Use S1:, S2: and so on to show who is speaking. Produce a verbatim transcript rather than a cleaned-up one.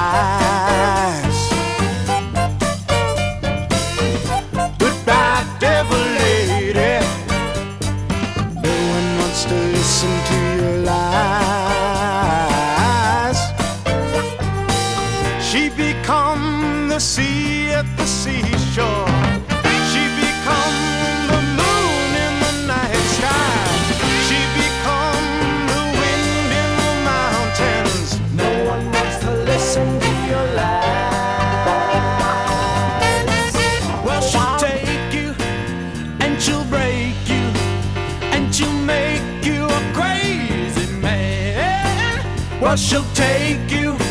S1: lies. Goodbye, devil lady. No one wants to listen to your lies. She become the sea at the seashore. She become the moon in the night sky. She become the wind in the mountains. No one wants to listen to your lies. Well, she'll take you and she'll break you and she'll make you a crazy man. Well, she'll take you